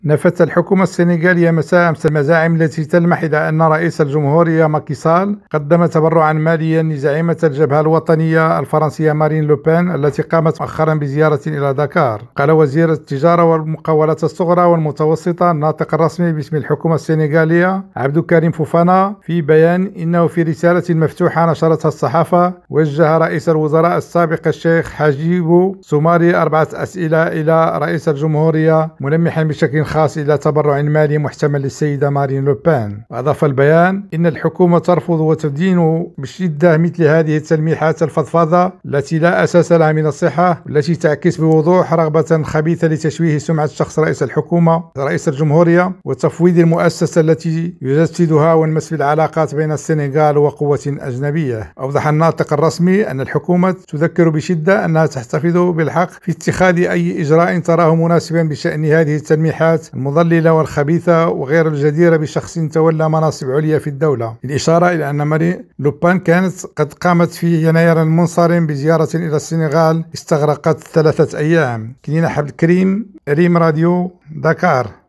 نفت الحكومة السنغالية مساء أمس المزاعم التي تلمح إلى أن رئيس الجمهورية ماكي سال قدم تبرعا ماليا لزعيمة الجبهة الوطنية الفرنسية مارين لوبين التي قامت مؤخرا بزيارة إلى دكار. قال وزير التجارة والمقاولات الصغرى والمتوسطة الناطق الرسمي باسم الحكومة السنغالية عبد الكريم فوفانا في بيان إنه في رسالة مفتوحة نشرتها الصحافة وجه رئيس الوزراء السابق الشيخ حجيبو سوماري 4 أسئلة إلى رئيس الجمهورية ملمحا بشكل خاص إلى تبرع مالي محتمل للسيدة مارين لوبين. وأضاف البيان إن الحكومة ترفض وتدين بشدة مثل هذه التلميحات الفضفاضة التي لا أساس لها من الصحة والتي تعكس بوضوح رغبة خبيثة لتشويه سمعة شخص رئيس الحكومة رئيس الجمهورية وتفويض المؤسسة التي يجسدها والمس في العلاقات بين السنغال وقوة أجنبية. أوضح الناطق الرسمي أن الحكومة تذكر بشدة أنها تحتفظ بالحق في اتخاذ أي إجراء تراه مناسبا بشأن هذه التلميحات المضللة والخبيثة وغير الجديرة بشخص تولى مناصب عليا في الدولة، بالإشارة إلى أن مارين لوبين كانت قد قامت في يناير المنصرم بزيارة إلى السنغال استغرقت 3 أيام. كنينة عبد الكريم، ريم راديو، دكار.